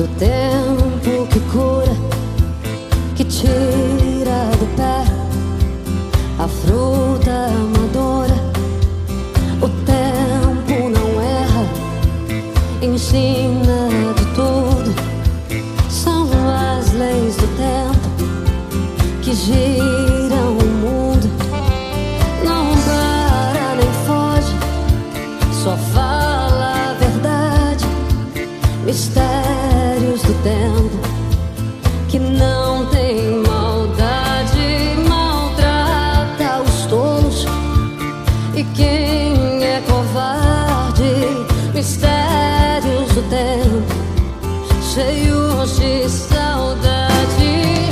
do tempo que cura, que tira do pé a fruta amadora. O tempo não erra, ensina de tudo. São as leis do tempo que giram o mundo. Não para nem foge, só fala a verdade. Mistérios do tempo que não tem maldade. Maltrata os tolos e quem é covarde. Mistérios do tempo cheios de saudade.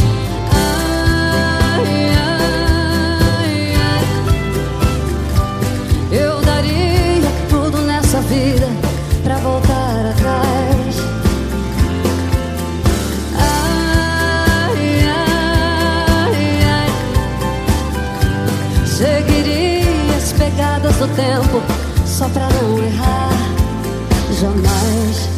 Ai, ai, ai. Eu daria tudo nessa vida pra voltar atrás. Ai, ai, ai. Seguiria as pegadas do tempo só pra não errar jamais.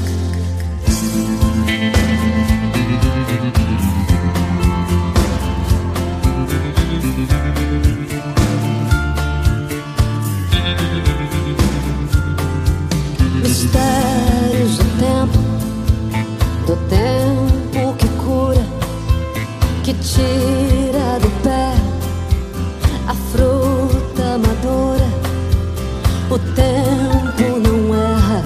Mistérios do tempo que cura, que tira do pé a fruta madura. O tempo não erra,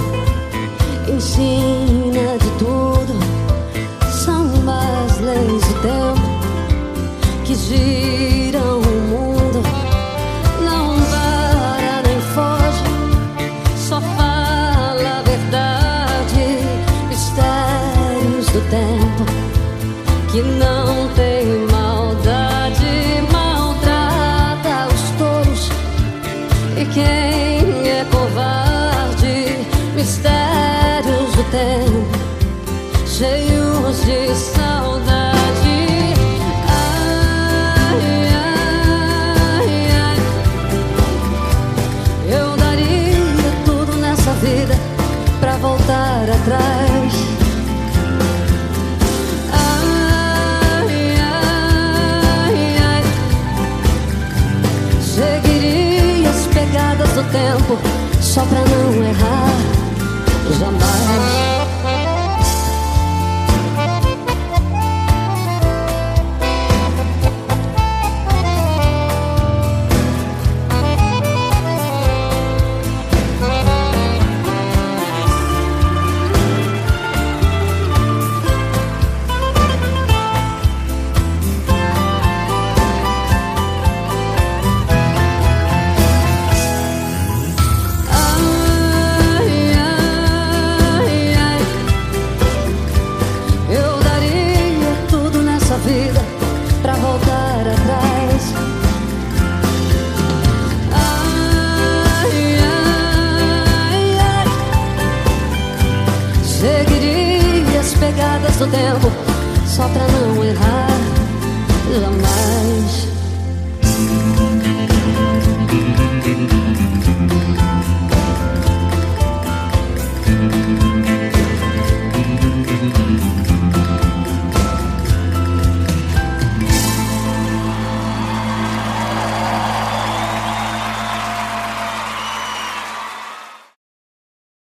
ensina de tudo. São as leis do tempo que giram o mundo. Não para nem foge, só fala a verdade. Mistérios do tempo que não tem maldade. Maltrata os tolos e quem é covarde. Mistérios do tempo cheios de saudade. Ai, ai, ai. Eu daria tudo nessa vida pra voltar atrás. Ai, ai, ai. Seguiria as pegadas do tempo só pra não errar jamais. Vida pra voltar atrás. Ai, ai, ai. Seguiria as pegadas do tempo só pra não errar jamais.